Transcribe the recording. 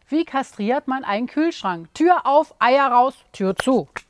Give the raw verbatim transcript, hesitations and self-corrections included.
Wie kastriert man einen Kühlschrank? Tür auf, Eier raus, Tür zu.